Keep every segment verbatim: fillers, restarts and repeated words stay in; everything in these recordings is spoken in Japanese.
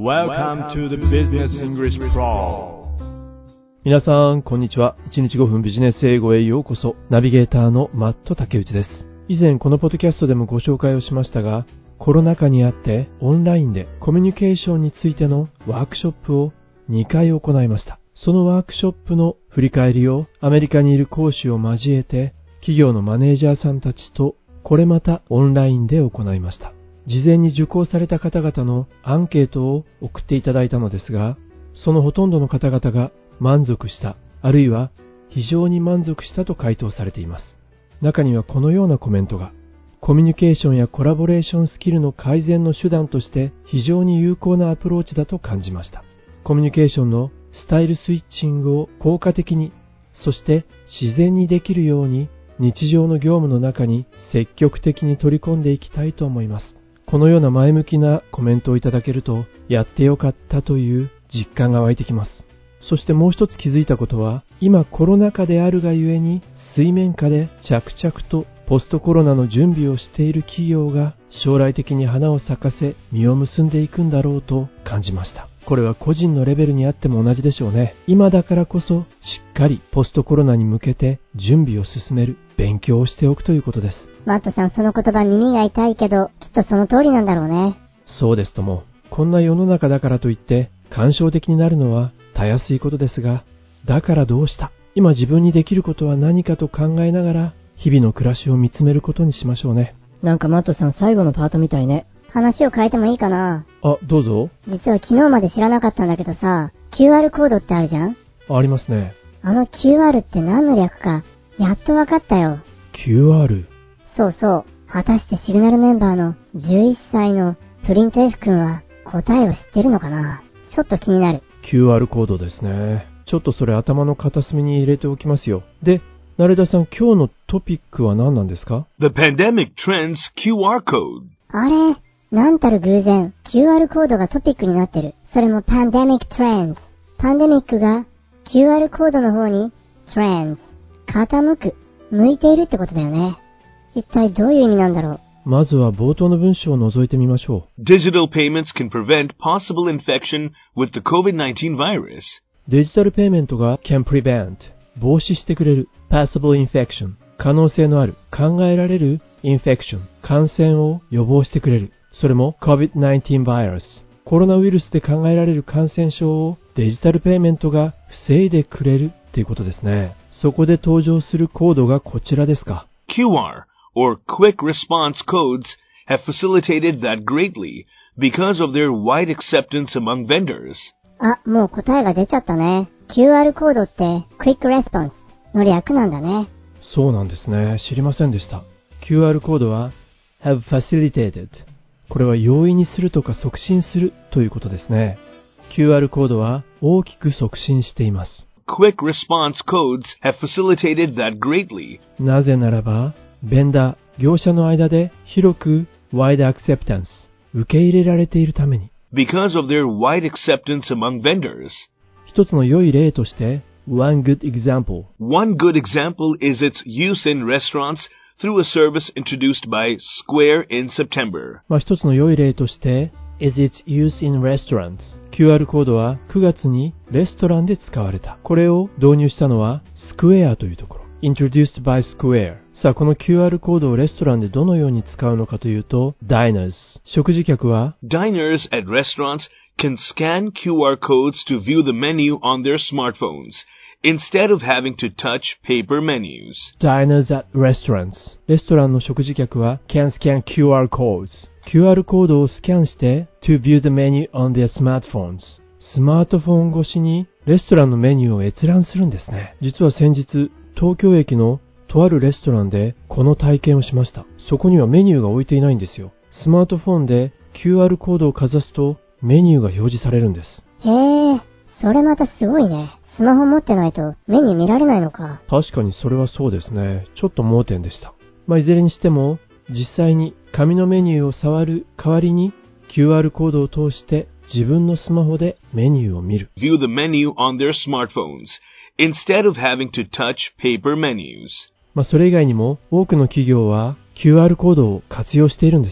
Welcome to the Business English Pro。 皆さんこんにちは。いちにちごふんビジネス英語へようこそ。ナビゲーターのマット竹内です。以前このポッドキャストでもご紹介をしましたが、コロナ禍にあってオンラインでコミュニケーションについてのワークショップをにかい行いました。そのワークショップの振り返りをアメリカにいる講師を交えて企業のマネージャーさんたちとこれまたオンラインで行いました。事前に受講された方々のアンケートを送っていただいたのですが、そのほとんどの方々が満足した、あるいは非常に満足したと回答されています。中にはこのようなコメントが、コミュニケーションやコラボレーションスキルの改善の手段として非常に有効なアプローチだと感じました。コミュニケーションのスタイルスイッチングを効果的に、そして自然にできるように日常の業務の中に積極的に取り込んでいきたいと思います。このような前向きなコメントをいただけると、やってよかったという実感が湧いてきます。そしてもう一つ気づいたことは、今コロナ禍であるがゆえに水面下で着々とポストコロナの準備をしている企業が将来的に花を咲かせ実を結んでいくんだろうと感じました。これは個人のレベルにあっても同じでしょうね。今だからこそしっかりポストコロナに向けて準備を進める、勉強をしておくということです。 マットさん、その言葉耳が痛いけど、きっとその通りなんだろうね。 そうですとも。こんな世の中だからといって感傷的になるのはたやすいことですが、だからどうした、今自分にできることは何かと考えながら日々の暮らしを見つめることにしましょうね。 なんかマットさん、最後のパートみたいね。 話を変えてもいいかな。 あ、どうぞ。 実は昨日まで知らなかったんだけどさ、キューアール コードってあるじゃん。 ありますね。 あの キューアール って何の略かやっとわかったよ。 キューアール。 そうそう。果たしてシグナルメンバーのじゅういっさいのプリント F 君は答えを知ってるのかな。ちょっと気になる。 キューアール コードですね。ちょっとそれ頭の片隅に入れておきますよ。で、成田さん、今日のトピックは何なんですか？ The Pandemic Trends キューアール Code。 あれ、なんたる偶然 キューアール コードがトピックになってる。それも Pandemic Trends。 パンデミックが キューアール コードの方に Trends、 傾く、向いているってことだよね。一体どういう意味なんだろう。 まずは冒頭の文章を覗いてみましょう。 Digital payments can prevent possible infection with the コービドナインティーン virus。 デジタルペイメントが can prevent、 防止してくれる、 possible infection、 可能性のある、考えられる infection、 感染を予防してくれる。それも コービドナインティーン virus、 コロナウイルスで考えられる感染症をデジタルペイメントが防いでくれるっていうことですね。そこで登場するコードがこちらですか。 キューアールor Quick Response Codes have facilitated that greatly because of their wide acceptance among vendors. あ、もう答えが出ちゃったね。キューアール コードって Quick Response の略なんだね。 そうなんですね。知りませんでした。キューアール コードは have facilitated。これは容易にするとか促進するということですね。キューアール コードは大きく促進しています。 Quick Response Codes have facilitated that greatly. なぜならば、ベンダー、業者の間で広く wide acceptance、 受け入れられているために。 Because of their wide acceptance among vendors. 一つの良い例として、one good example。 One good example is its use in restaurants through a service introduced by Square in September. まあ一つの良い例として、is its use in restaurants。 キューアール コードはくがつにレストランで使われた。これを導入したのは Square というところ。introduced by Square。 さあ、この キューアール コードをレストランでどのように使うのかというと、diners、 食事客は Diners at restaurants can scan キューアール codes to view the menu on their smartphones instead of having to touch paper menus. diners at restaurants。 レストランの食事客は can scan キューアール codes。 キューアール コードをスキャンして to view the menu on their smartphones。 スマートフォン越しにレストランのメニューを閲覧するんですね。実は先日、東京駅のとあるレストランでこの体験をしました。そこにはメニューが置いていないんですよ。スマートフォンで キューアール コードをかざすとメニューが表示されるんです。 へえ、それまたすごいね。スマホ持ってないとメニュー見られないのか。 確かにそれはそうですね。ちょっと盲点でした。まあ、いずれにしても実際に紙のメニューを触る代わりに キューアール コードを通して自分のスマホでメニューを見る。 View the menu on their smartphones instead of having to touch paper menus. まあ、それ以外にも多くの企業は キューアール コードを活用しているんですね。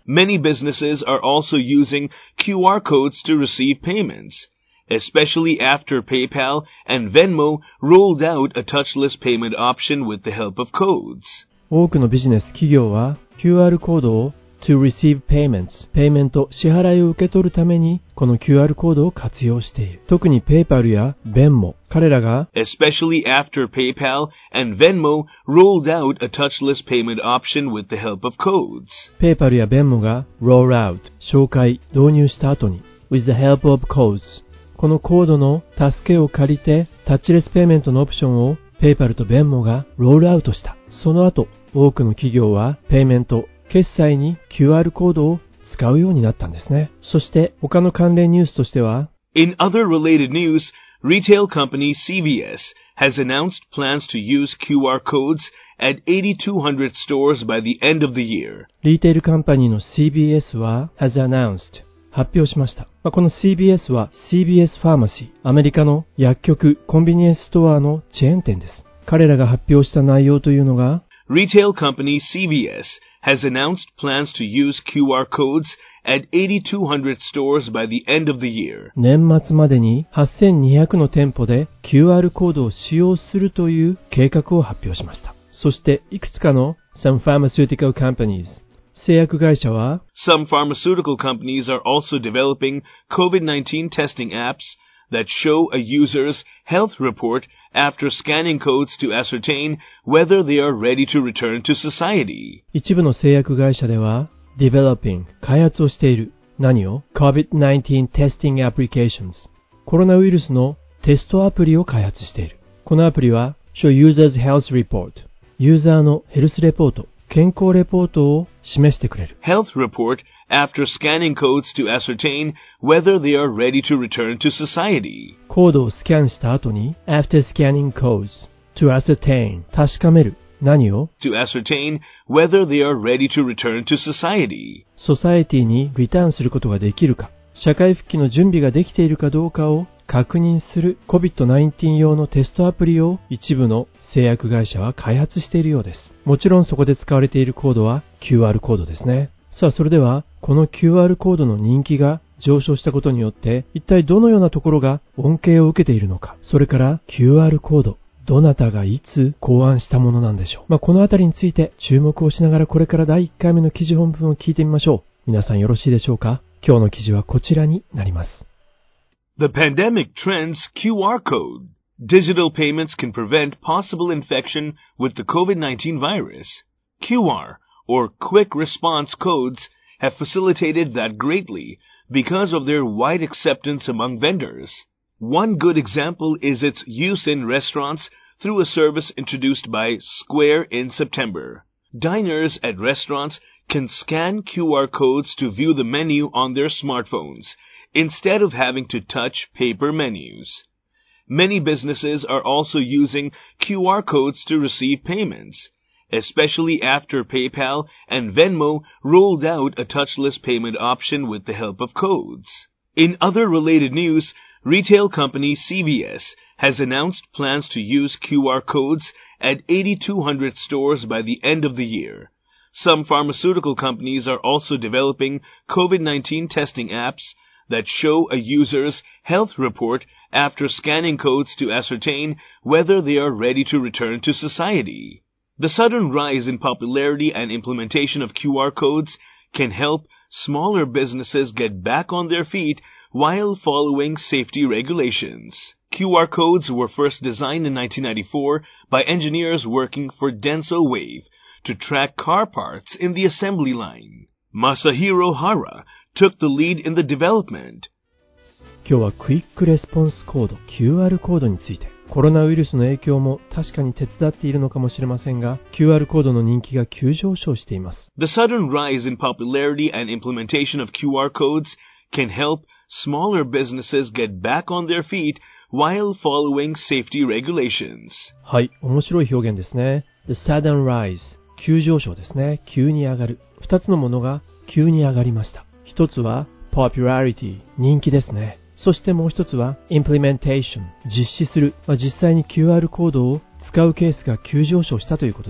Many businesses are also using Q R codes to receive payments, especially after PayPal and Venmo rolled out a touchless payment option with the help of codes. 多くのビジネス企業は キューアール コードを to receive payments、ペイメント、支払いを受け取るためにこの キューアール コードを活用している。特に PayPal や Venmo、彼らが especially after PayPal and Venmo rolled out a touchless payment option with the help of codes. PayPal や Venmo が roll out、紹介、導入した後に with the help of codes、このコードの助けを借りてタッチレスペイメントのオプションを PayPal と Venmo がロールアウトした。その後、多くの企業はペイメント、決済に キューアール コードを使うようになったんですね。そして他の関連ニュースとしては In other related news, retail company C V S has announced plans to use Q R codes at eighty-two hundred stores by the end of the year. リーテールカンパニーの シービーエス は has announced発表しました。まあ、この シービーエス は シービーエス ファーマシー、アメリカの薬局、コンビニエンスストアのチェーン店です。彼らが発表した内容というのが Retail company C V S has announced plans to use Q R codes at eighty-two hundred stores by the end of the year. 年末までにはっせんにひゃくの店舗で キューアール コードを使用するという計画を発表しました。そしていくつかの some pharmaceutical companies、製薬会社は Some pharmaceutical companies are also developing COVID nineteen testing apps that show a user's health report after scanning codes to ascertain whether they are ready to return to society. 一部の製薬会社では developing 開発をしている何を COVID nineteen testing applications コロナウイルスのテストアプリを開発している。このアプリは show users health report ユーザーのヘルスレポート健康レポートを示してくれる。 Health report after scanning codes to ascertain whether they are ready to return to society. コードをスキャンした後に after scanning codes to ascertain 確かめる何を To ascertain whether they are ready to return to society. ソサエティにリターンすることができるか社会復帰の準備ができているかどうかを確認する コビッドナインティーン 用のテストアプリを一部の製薬会社は開発しているようです。もちろんそこで使われているコードは キューアール コードですね。さあそれではこの キューアール コードの人気が上昇したことによって一体どのようなところが恩恵を受けているのか、それから キューアール コードどなたがいつ考案したものなんでしょう。まあ、このあたりについて注目をしながらこれからだいいっかいめの記事本文を聞いてみましょう。皆さんよろしいでしょうか。今日の記事はこちらになります。 The pandemic trends Q R code. Digital payments can prevent possible infection with the COVID nineteen virus. Q R, or Quick Response Codes, have facilitated that greatly because of their wide acceptance among vendors. One good example is its use in restaurants through a service introduced by Square in September. Diners at restaurants can scan Q R codes to view the menu on their smartphones, instead of having to touch paper menus. Many businesses are also using Q R codes to receive payments, especially after PayPal and Venmo rolled out a touchless payment option with the help of codes. In other related news, retail company C V S has announced plans to use Q R codes at eighty-two hundred stores by the end of the year. Some pharmaceutical companies are also developing COVID nineteen testing apps that show a user's health report after scanning codes to ascertain whether they are ready to return to society. The sudden rise in popularity and implementation of Q R codes can help smaller businesses get back on their feet while following safety regulations. Q R codes were first designed in nineteen ninety-four by engineers working for Denso Wave to track car parts in the assembly line. Masahiro Hara took the lead in the development. 今日はクイックレスポンスコード キューアール コードについて、コロナウイルスの影響も確かに手伝っているのかもしれませんが、キューアール コードの人気が急上昇しています。 The sudden rise in popularity and implementation of Q R codes can help smaller businesses get back on their feet while following safety regulations. はい、面白い表現ですね。The sudden rise 急上昇ですね。急に上がる。二つのものが急に上がりました。一つは popularity 人気ですね。そしてもう一つは implementation 実施する、まあ、実際に キューアール コードを使うケースが急上昇したということです。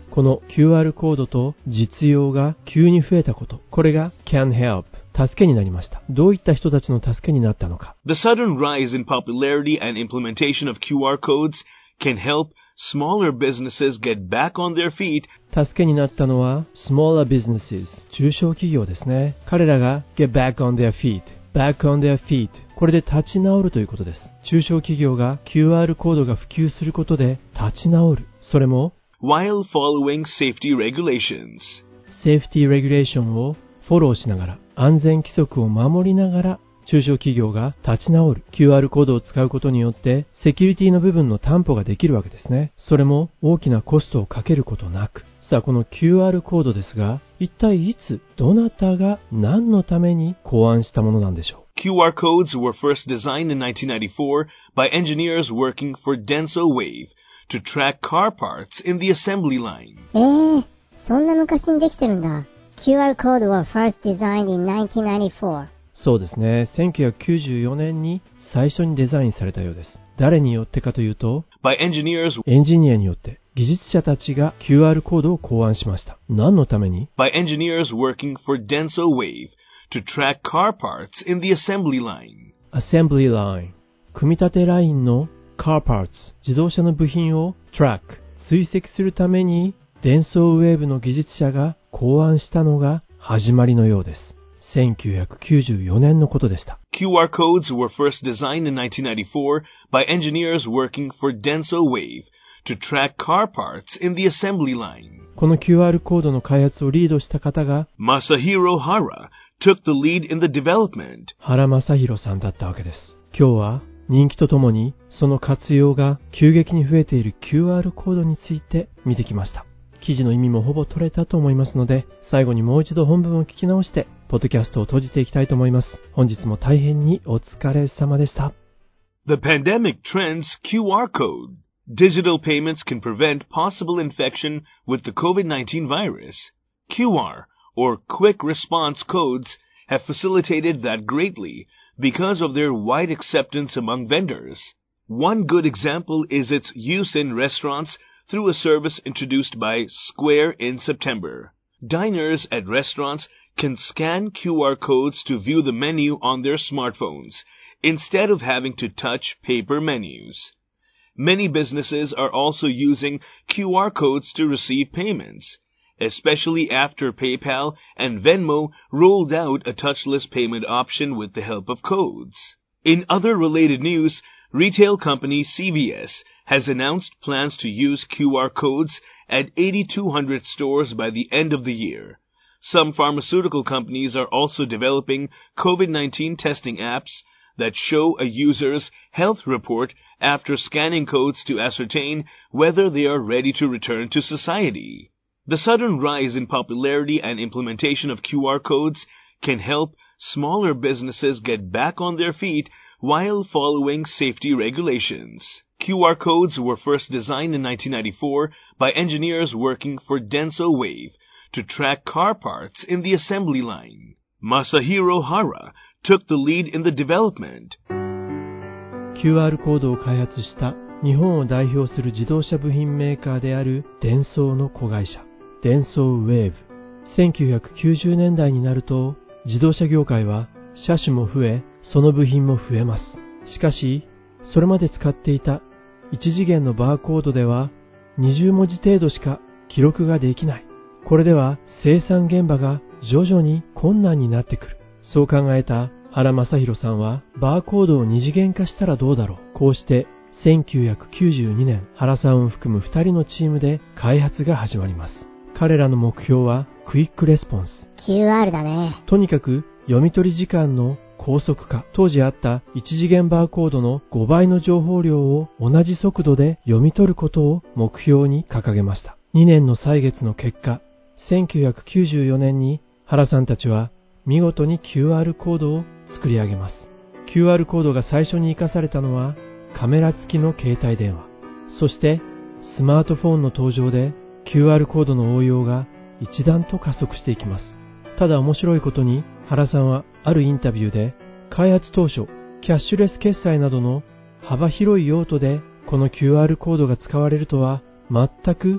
この キューアール コードと実用が急に増えたこと、これが can help、助けになりました。どういった人たちの助けになったのか。 The sudden rise in popularity and implementation of キューアール codes can help smaller businesses get back on their feet. 助けになったのは smaller businesses、中小企業ですね。彼らが get back on their feet、back on their feet、これで立ち直るということです。中小企業が キューアール コードが普及することで立ち直る。それも while following safety regulations。 セーフティーレギュレーションをフォローしながら、安全規則を守りながら、中小企業が立ち直る。キューアール コードを使うことによって、セキュリティの部分の担保ができるわけですね。それも大きなコストをかけることなく。さあ、この キューアール コードですが、一体いつ、どなたが何のために考案したものなんでしょう。 キューアール codes were first designed in nineteen ninety-four by engineers working for DensoWave to track car parts in the assembly line. えー、そんな昔にできてるんだ。キューアール code was first designed in nineteen ninety-four. そうですね。せんきゅうひゃくきゅうじゅうよねんに最初にデザインされたようです。誰によってかというと、 by engineers、 エンジニアによって、技術者たちが キューアール コードを考案しました。何のために？ by engineers working for DensoWave to track car parts in the assembly line. Assembly line、組み立てラインの car parts、自動車の部品を track、追跡するために、DensoWaveの技術者が考案したのが始まりのようです。せんきゅうひゃくきゅうじゅうよねんのことでした。 キューアール codes were first designed in nineteen ninety-four by engineers working for DensoWave to track car parts in the assembly line. この キューアール コードの開発をリードした方が Masahiro Hara took the lead in the development. 原正宏さんだったわけです。今日は人気とともにその活用が急激に増えている キューアール コードについて見てきました。記事の意味もほぼ取れたと思いますので、最後にもう一度本文を聞き直してポッドキャストを閉じていきたいと思います。本日も大変にお疲れ様でした。 The pandemic trends キューアール code. Digital payments can prevent possible infection with the COVID nineteen virus. キューアール, or Quick Response Codes, have facilitated that greatly because of their wide acceptance among vendors. One good example is its use in restaurants through a service introduced by Square in September. Diners at restaurants can scan Q R codes to view the menu on their smartphones, instead of having to touch paper menus. Many businesses are also using Q R codes to receive payments, especially after PayPal and Venmo rolled out a touchless payment option with the help of codes. In other related news, retail company C V S has announced plans to use Q R codes at eighty-two hundred stores by the end of the year. Some pharmaceutical companies are also developing COVID nineteen testing apps that show a user's health report after scanning codes to ascertain whether they are ready to return to society. The sudden rise in popularity and implementation of Q R codes can help smaller businesses get back on their feet while following safety regulations. Q R codes were first designed in nineteen ninety-four by engineers working for DensoWave to track car parts in the assembly line. Masahiro Hara took the lead in the development. キューアール コードを開発した日本を代表する自動車部品メーカーであるデンソーの子会社、DensoWave。せんきゅうひゃくきゅうじゅうねんだいになると、自動車業界は車種も増え、その部品も増えます。しかし、それまで使っていた一次元のバーコードではにじゅうもじ程度しか記録ができない。これでは生産現場が徐々に困難になってくる。そう考えた原正宏さんはバーコードを二次元化したらどうだろう。こうしてせんきゅうひゃくきゅうじゅうにねん、原さんを含むふたりのチームで開発が始まります。彼らの目標はクイックレスポンス。 キューアール だね。 とにかく読み取り時間の高速化。当時あった一次元バーコードのごばいの情報量を同じ速度で読み取ることを目標に掲げました。にねんの歳月の結果、せんきゅうひゃくきゅうじゅうよねんに原さんたちは見事に キューアール コードを作り上げます。キューアール コードが最初に活かされたのはカメラ付きの携帯電話。そしてスマートフォンの登場で キューアール コードの応用が一段と加速していきます。ただ面白いことに原さんはあるインタビューで開発当初キャッシュレス決済などの幅広い用途でこの キューアール コードが使われるとは全く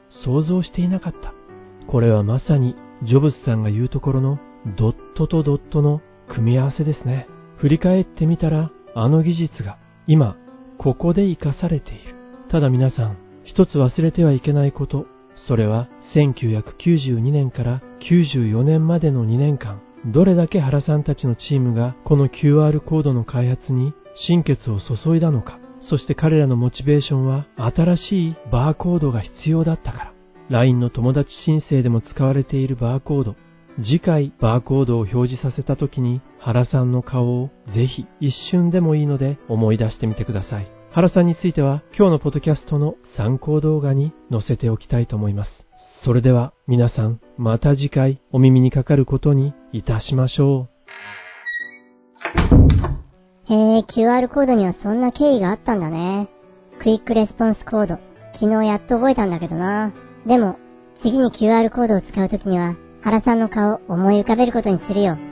想像していなかった。これはまさにジョブズさんが言うところのドットとドットの組み合わせですね。振り返ってみたら、あの技術が今ここで活かされている。ただ皆さん、一つ忘れてはいけないこと、それはせんきゅうひゃくきゅうじゅうにねんからきゅうじゅうよねんまでのにねんかん、どれだけ原さんたちのチームがこの キューアール コードの開発に心血を注いだのか。そして彼らのモチベーションは新しいバーコードが必要だったから。ライン の友達申請でも使われているバーコード。次回バーコードを表示させた時に原さんの顔をぜひ一瞬でもいいので思い出してみてください。原さんについては今日のポッドキャストの参考動画に載せておきたいと思います。それでは皆さん、また次回お耳にかかることにいたしましょう。へえ、キューアール コードにはそんな経緯があったんだね。クイックレスポンスコード。昨日やっと覚えたんだけどな。でも、次に キューアール コードを使うときには、原さんの顔思い浮かべることにするよ。